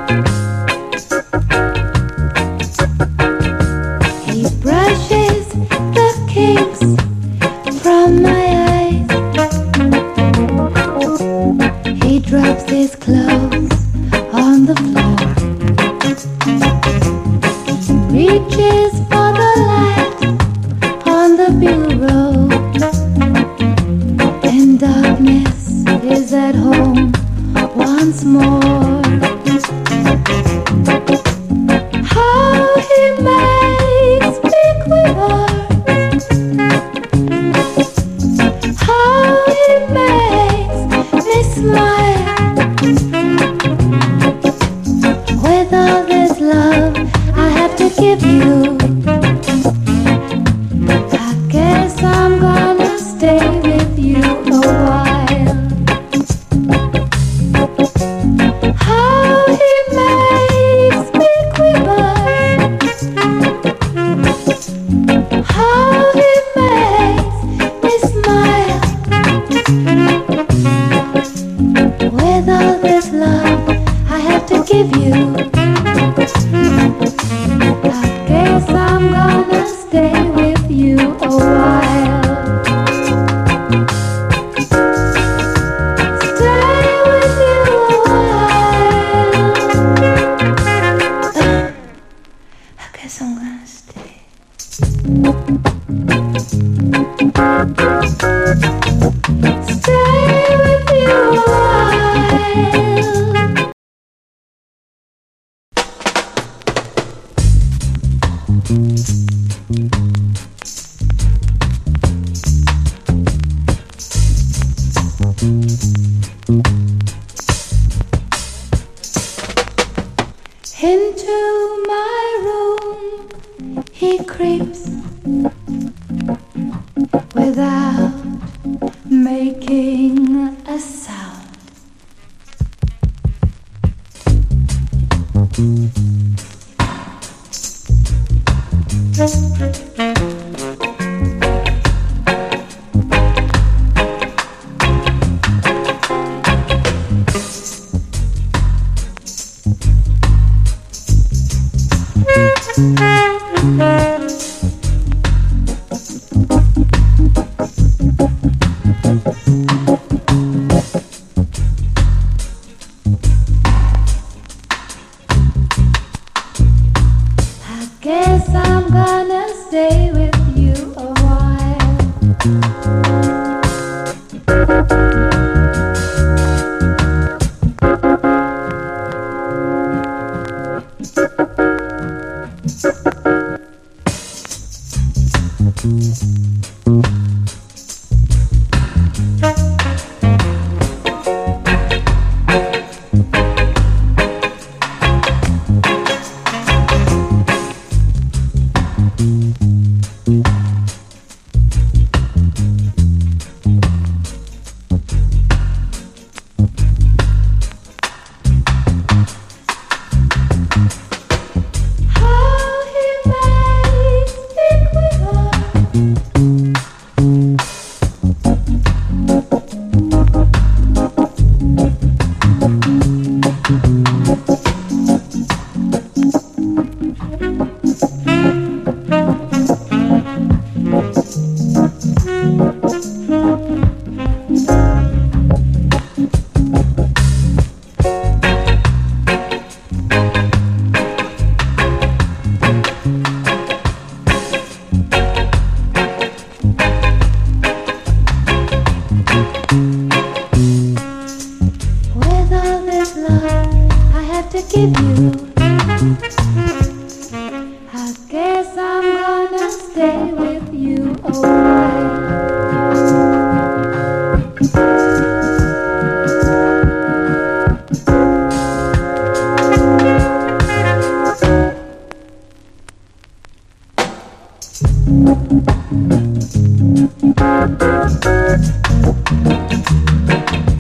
He brushes the kinks from my eyes. He drops his clothes on the floor. He reaches for the light on the bureau. And darkness is at home once more. How he makes me quiver. How he makes me smile. With all this love I have to give you, I guess I'm gonna stay with you a while. How he makes me quiver. How he makes me smile. With all this love I have to give you, I guess I'm gonna stay with you a while. Stay with you a while. I guess I'm gonna stay. Stay with you a while. Into my room he creeps without making a sound. I guess I'm gonna stay with you a while. How he makes me quiver. With all this love I have to give you,